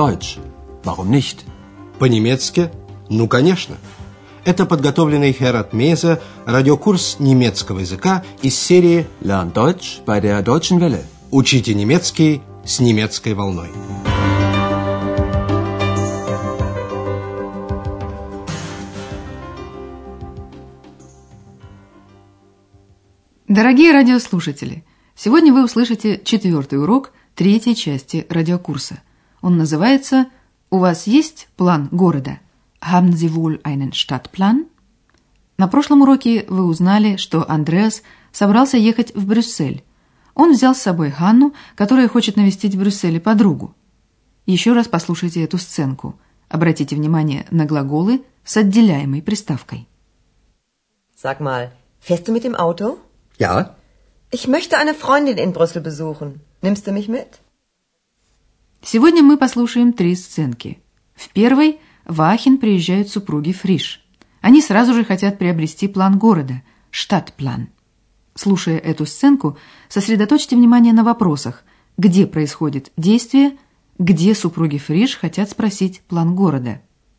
Deutsch. Warum nicht? По-немецки? Ну, конечно. Это подготовленный Херат Мейзе радиокурс немецкого языка из серии Lern Deutsch bei der Deutschen Welle. «Учите немецкий с немецкой волной». Дорогие радиослушатели, сегодня вы услышите 4-й урок 3-й части радиокурса. Он называется «У вас есть план города?» Haben Sie wohl einen Stadtplan? На прошлом уроке вы узнали, что Андреас собрался ехать в Брюссель. Он взял с собой Ханну, которая хочет навестить в Брюсселе подругу. Еще раз послушайте эту сценку. Обратите внимание на глаголы с отделяемой приставкой. Sag mal, fährst du mit dem Auto? Ja. Ich möchte eine Freundin in Brüssel besuchen. Nimmst du mich mit? Сегодня мы послушаем 3 сценки. В первой в Ахен приезжают супруги Фриш. Они сразу же хотят приобрести план города – Stadtplan. Слушая эту сценку, сосредоточьте внимание на вопросах, где происходит действие, где супруги Фриш хотят спросить план города.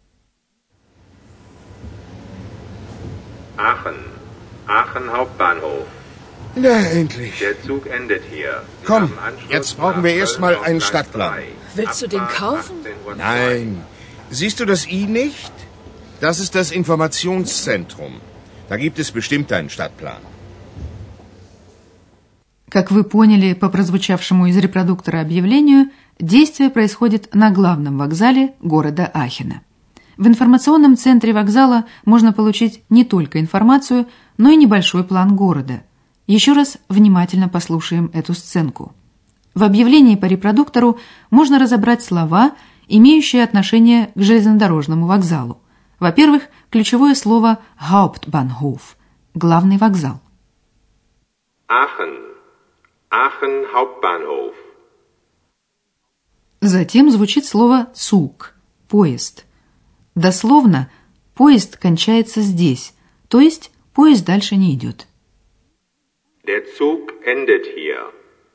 Aachen Hauptbahnhof. Na, endlich. Der Zug endet hier. Komm, jetzt brauchen wir erstmal einen Stadtplan. Willst du den kaufen? Nein. Siehst du das I nicht? Das ist das Informationszentrum. Da gibt es bestimmt einen Stadtplan. Как вы поняли по прозвучавшему из репродуктора объявлению, действие происходит на главном вокзале города Ахена. В информационном центре вокзала можно получить не только информацию, но и небольшой план города. Еще раз внимательно послушаем эту сценку. В объявлении по репродуктору можно разобрать слова, имеющие отношение к железнодорожному вокзалу. Во-первых, ключевое слово Hauptbahnhof – главный вокзал. Aachen Hauptbahnhof. Затем звучит слово Zug – поезд. Дословно, поезд кончается здесь, то есть поезд дальше не идет. Der Zug endet hier.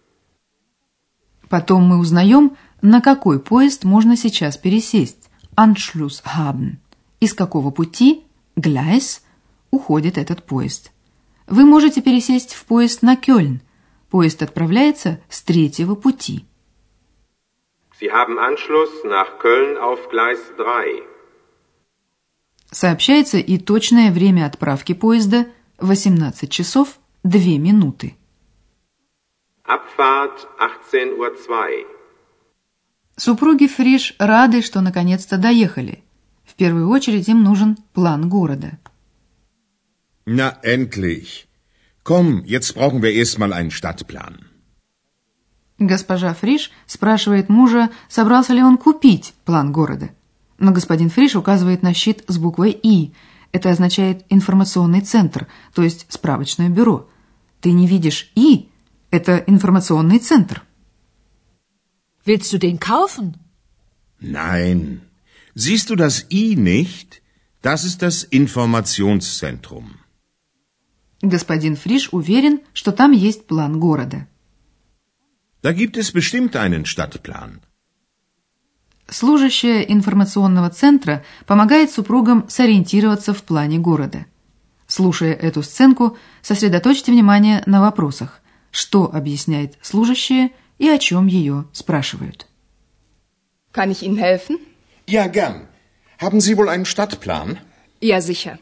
Потом мы узнаем, на какой поезд можно сейчас пересесть. Anschluss haben. Из какого пути, Gleis, уходит этот поезд. Вы можете пересесть в поезд на Кёльн. Поезд отправляется с 3-го пути. Sie haben Anschluss nach Köln auf Gleis 3. Сообщается и точное время отправки поезда – 18 часов 2 минуты. Abfahrt 18:02. Супруги Фриш рады, что наконец-то доехали. В первую очередь им нужен план города. Na, endlich. Komm, jetzt brauchen wir erstmal einen Stadtplan. Госпожа Фриш спрашивает мужа, собрался ли он купить план города. Но господин Фриш указывает на щит с буквой «И». Это означает информационный центр, то есть справочное бюро. Ты не видишь «И»? Это информационный центр. Willst du den kaufen? Nein. Siehst du das I nicht? Das ist das Informationszentrum. Господин Фриш уверен, что там есть план города. Da gibt es bestimmt einen Stadtplan. Служащая информационного центра помогает супругам сориентироваться в плане города. Слушая эту сценку, сосредоточьте внимание на вопросах, что объясняет служащая и о чем ее спрашивают. Kann ich Ihnen helfen? Ja, gern. Haben Sie wohl einen Stadtplan? Ja, sicher.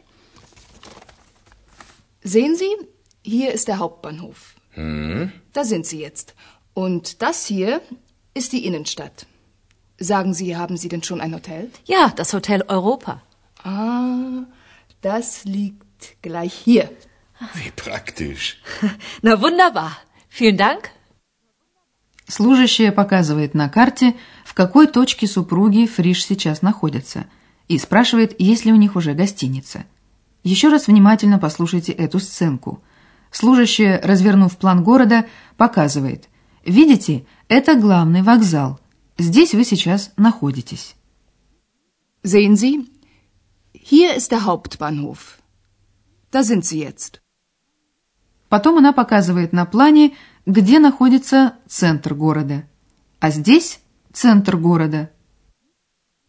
Sehen Sie, hier ist der Hauptbahnhof. Da sind Sie jetzt. Und das hier ist die Innenstadt. Sagen Sie, haben Sie denn schon ein Hotel? Ja, das Hotel Europa. Ah, das liegt gleich hier. Wie praktisch. Na wunderbar. Vielen Dank. Служащая показывает на карте, в какой точке супруги Фриш сейчас находятся, и спрашивает, есть ли у них уже гостиница. Еще раз внимательно послушайте эту сценку. Служащая, развернув план города, показывает. Видите, это главный вокзал. Здесь вы сейчас находитесь. Sehen Sie, hier ist der Hauptbahnhof. Da sind Sie jetzt. Потом она показывает на плане, где находится центр города. А здесь центр города.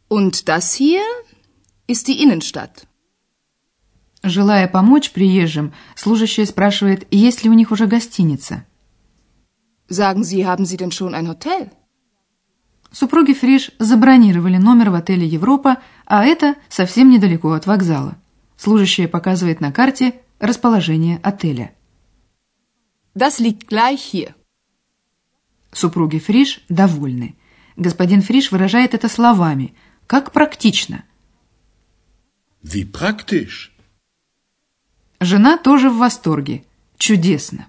Und das hier ist die Innenstadt. Желая помочь приезжим, служащая спрашивает, есть ли у них уже гостиница. Sagen Sie, haben Sie denn schon ein Hotel? Супруги Фриш забронировали номер в отеле «Европа», а это совсем недалеко от вокзала. Служащая показывает на карте расположение отеля. Das liegt gleich hier. Супруги Фриш довольны. Господин Фриш выражает это словами. Как практично. Wie praktisch. Жена тоже в восторге. Чудесно.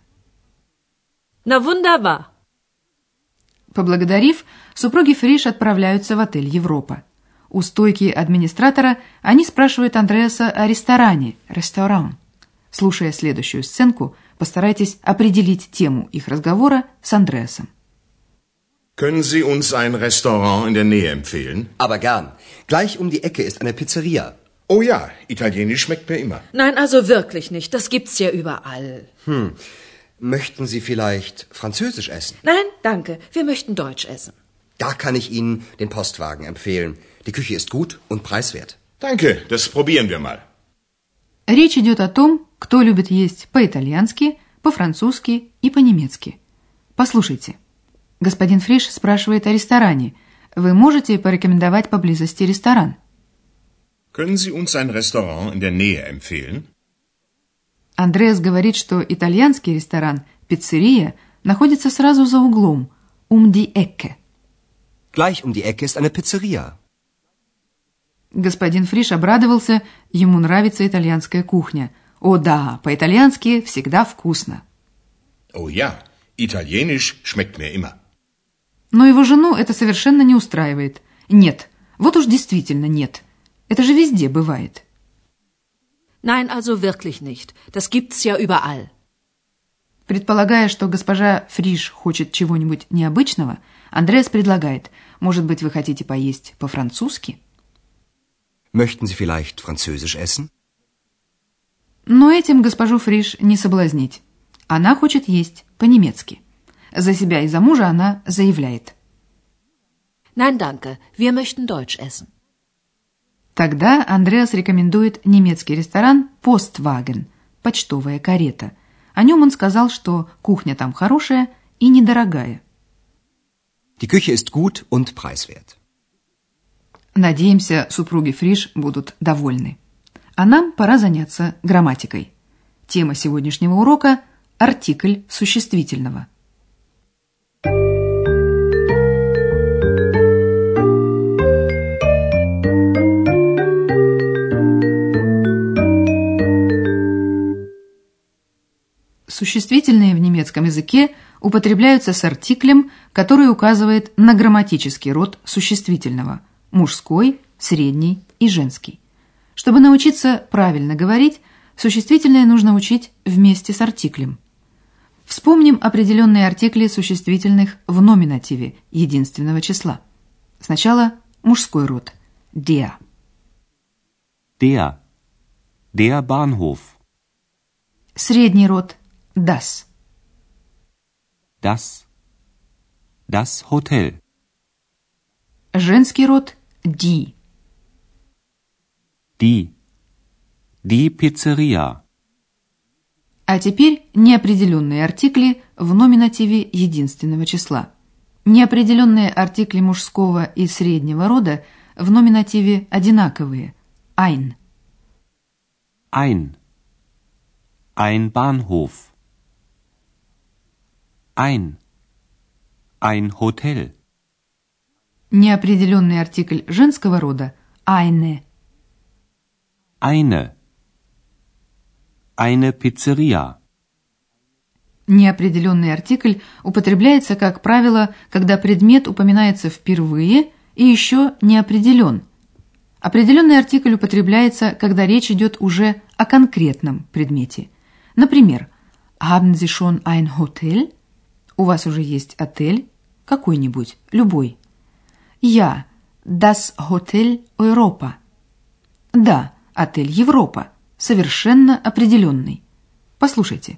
Na wunderbar. Поблагодарив, супруги Фриш отправляются в отель «Европа». У стойки администратора они спрашивают Андреаса о ресторане, ресторан. Слушая следующую сценку, постарайтесь определить тему их разговора с Андреасом. Können Sie uns ein Restaurant in der Nähe empfehlen? Aber gern. Gleich um die Ecke ist eine Pizzeria. Oh ja, Italienisch schmeckt mir immer. Nein, also wirklich nicht. Das gibt's ja überall. Möchten Sie vielleicht Französisch essen? Nein, danke. Wir möchten Deutsch essen. Da kann ich Ihnen den Postwagen empfehlen. Die Küche ist gut und preiswert. Danke, das probieren wir mal. Речь идет о том, кто любит есть по-итальянски, по-французски и по-немецки. Послушайте. Господин Фриш спрашивает о ресторане. Вы можете порекомендовать поблизости ресторан? Können Sie uns ein Restaurant in der Nähe empfehlen? Андреас говорит, что итальянский ресторан «Пиццерия» находится сразу за углом, die Ecke. Gleich um die Ecke ist eine Pizzeria. Господин Фриш обрадовался, ему нравится итальянская кухня. О да, по-итальянски всегда вкусно. Oh ja, Italienisch schmeckt mir immer. Но его жену это совершенно не устраивает. Нет, вот уж действительно нет. Это же везде бывает. Nein, also wirklich nicht. Das gibt's ja überall. Предполагая, что госпожа Фриш хочет чего-нибудь необычного, Андреас предлагает, может быть, вы хотите поесть по-французски? Möchten Sie vielleicht Französisch essen? Но этим госпожу Фриш не соблазнить. Она хочет есть по-немецки. За себя и за мужа она заявляет. Nein, danke. Wir möchten Deutsch essen. Тогда Андреас рекомендует немецкий ресторан «Постваген» – почтовая карета. О нем он сказал, что кухня там хорошая и недорогая. Die Küche ist gut und preiswert. Надеемся, супруги Фриш будут довольны. А нам пора заняться грамматикой. Тема сегодняшнего урока – артикль существительного. Существительные в немецком языке употребляются с артиклем, который указывает на грамматический род существительного – мужской, средний и женский. Чтобы научиться правильно говорить, существительное нужно учить вместе с артиклем. Вспомним определенные артикли существительных в номинативе единственного числа. Сначала мужской род – der. Der Bahnhof. Средний род – das. Das Hotel. Женский род – die. Die Pizzeria. А теперь неопределенные артикли в номинативе единственного числа. Неопределенные артикли мужского и среднего рода в номинативе одинаковые – ein. Ein Bahnhof. Ein Hotel. Неопределенный артикль женского рода – eine. Eine Pizzeria. Неопределенный артикль употребляется, как правило, когда предмет упоминается впервые и еще не определен. Определенный артикль употребляется, когда речь идет уже о конкретном предмете. Например, Haben Sie schon ein Hotel? У вас уже есть отель? Какой-нибудь, любой. Ja, das Hotel Europa. Да, отель Европа. Совершенно определенный. Послушайте.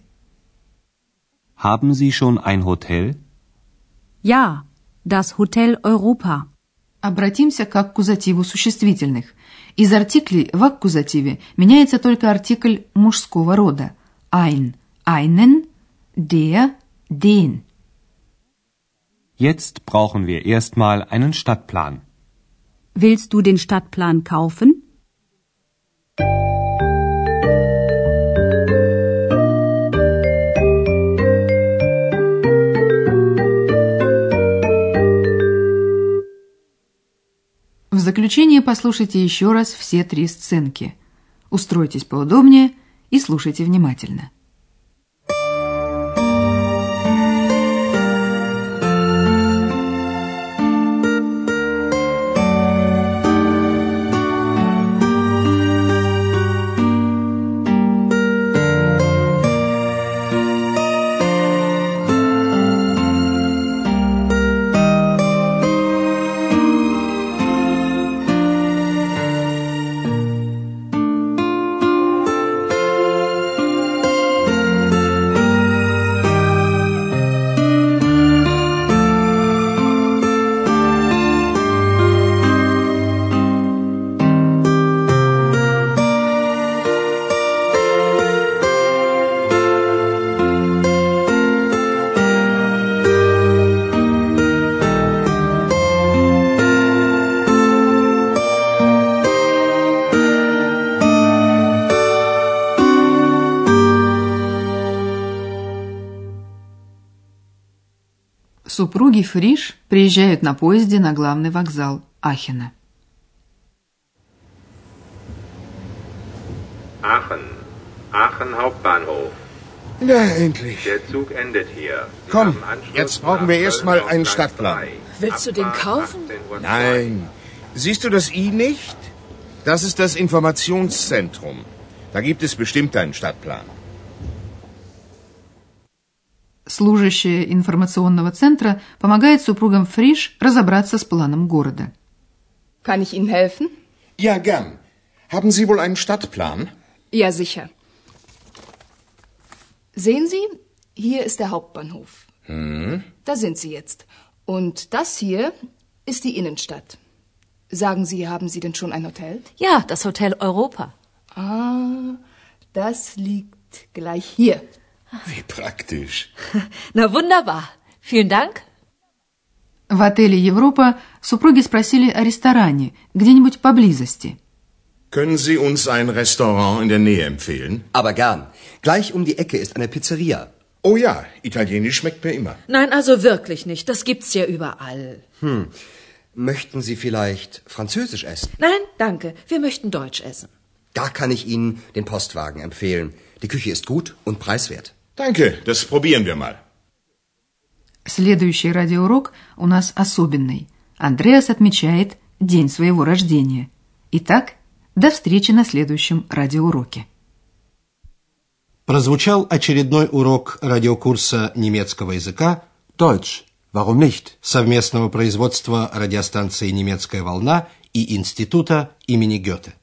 Haben Sie schon ein Hotel? Ja, das Hotel Europa. Обратимся к аккузативу существительных. Из артиклей в аккузативе меняется только артикль мужского рода. Ein, einen, der, den. Jetzt brauchen wir erstmal einen Stadtplan. Willst du den Stadtplan kaufen? В заключение послушайте еще раз все 3 сценки. Устройтесь поудобнее и слушайте внимательно. Супруги Фриш приезжают на поезде на главный вокзал Ахена. Aachen. Aachen Hauptbahnhof. Na, endlich. Der Zug endet hier. Sie Komm, haben Anschluss jetzt brauchen wir nach erstmal Köln einen auf Gleis Stadtplan. 3. Willst du den Abfahrt kaufen? 18:02. Nein. Siehst du das I nicht? Das ist das Informationszentrum. Da gibt es bestimmt einen Stadtplan. Служащая информационного центра помогает супругам Фриш разобраться с планом города. Kann ich Ihnen helfen? Ja, gern. Haben Sie wohl einen Stadtplan? Ja, sicher. Sehen Sie, hier ist der Hauptbahnhof. Da sind Sie jetzt. Und das hier ist die Innenstadt. Sagen Sie, haben Sie denn schon ein Hotel? Ja, das Hotel Europa. Ah, das liegt gleich hier. Wie praktisch. Na wunderbar. Vielen Dank. В отеле «Европа» супруги спросили о ресторане, где-нибудь поблизости. Können Sie uns ein Restaurant in der Nähe empfehlen? Aber gern. Gleich um die Ecke ist eine Pizzeria. Oh ja, Italienisch schmeckt mir immer. Nein, also wirklich nicht. Das gibt's ja überall. Möchten Sie vielleicht Französisch essen? Nein, danke. Wir möchten Deutsch essen. Da kann ich Ihnen den Postwagen empfehlen. Die Küche ist gut und preiswert. Danke, das probieren wir mal. Следующий радиоурок у нас особенный. Андреас отмечает день своего рождения. Итак, до встречи на следующем радиоуроке. Прозвучал очередной урок радиокурса немецкого языка Deutsch, warum nicht? совместного производства радиостанции «Немецкая волна» и Института имени Гёте.